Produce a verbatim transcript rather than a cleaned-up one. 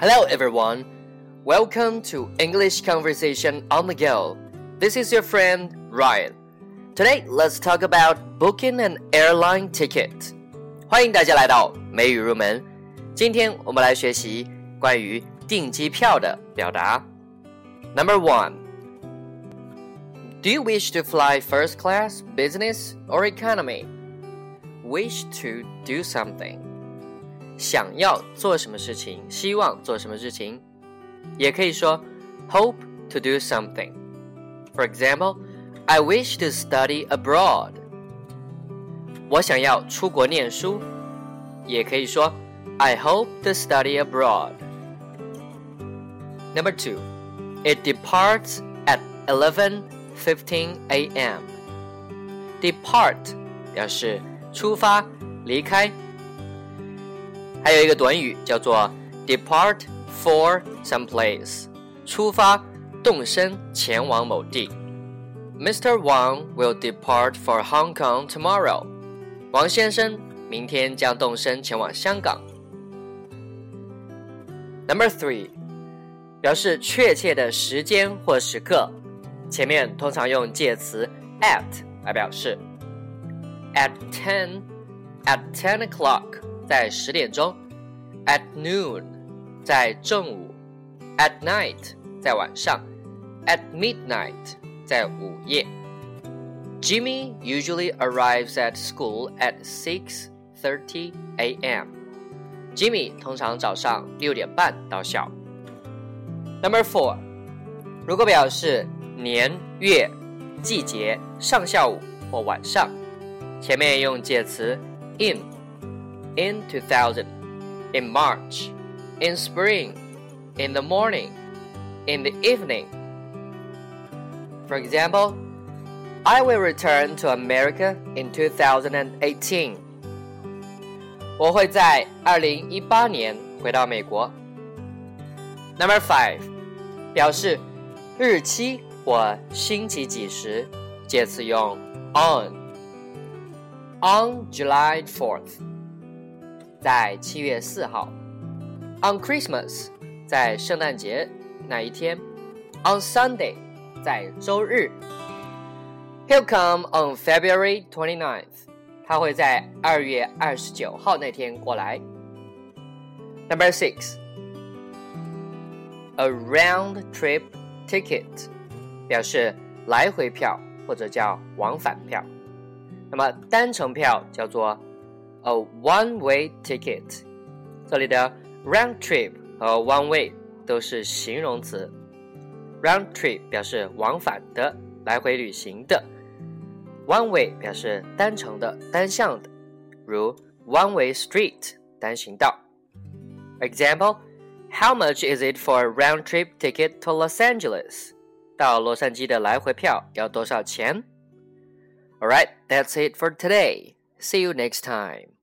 Hello everyone, welcome to English Conversation on the Go. This is your friend Ryan. Today, let's talk about booking an airline ticket. 欢迎大家来到美语入门。今天我们来学习关于订机票的表达。Number one, do you wish to fly first class, business, or economy? Wish to do something. 想要做什么事情，希望做什么事情，也可以说 hope to do something. For example, I wish to study abroad. 我想要出国念书，也可以说 I hope to study abroad. Number two, it departs at eleven fifteen a.m. Depart 表示出发、离开。还有一个短语叫做 depart for some place, 出发、动身前往某地。Mister Wang will depart for Hong Kong tomorrow. 王先生明天将动身前往香港。Number three, 表示确切的时间或时刻，前面通常用介词 at 来表示。At ten, at ten o'clock, 在十点钟。At noon, 在正午。At night, 在晚上。At midnight, 在午夜。Jimmy usually arrives at school at six thirty a.m. Jimmy 通常早上六点半到校。Number four, 如果表示年、月、季节、上下午或晚上，前面用介词 in, in two thousand, in March, in spring, in the morning, in the evening. For example, I will return to America in two thousand eighteen. 我会在二零一八年回到美国。Number five, 表示日期或星期几时，介词用 on. On July fourth, 在七月四号。On Christmas, 在圣诞节那一天。On Sunday, 在周日。He'll come on February twenty-ninth. 他会在二月二十九号那天过来。Number six, a round trip ticket, 表示来回票或者叫往返票。那么单程票叫做 a one-way ticket. 这里的 round trip 和 one way 都是形容词。Round trip 表示往返的，来回旅行的。One way 表示单程的、单向的，如 one way street 单行道。Example, how much is it for a round trip ticket to Los Angeles? 到洛杉矶的来回票要多少钱？ Alright, that's it for today. See you next time.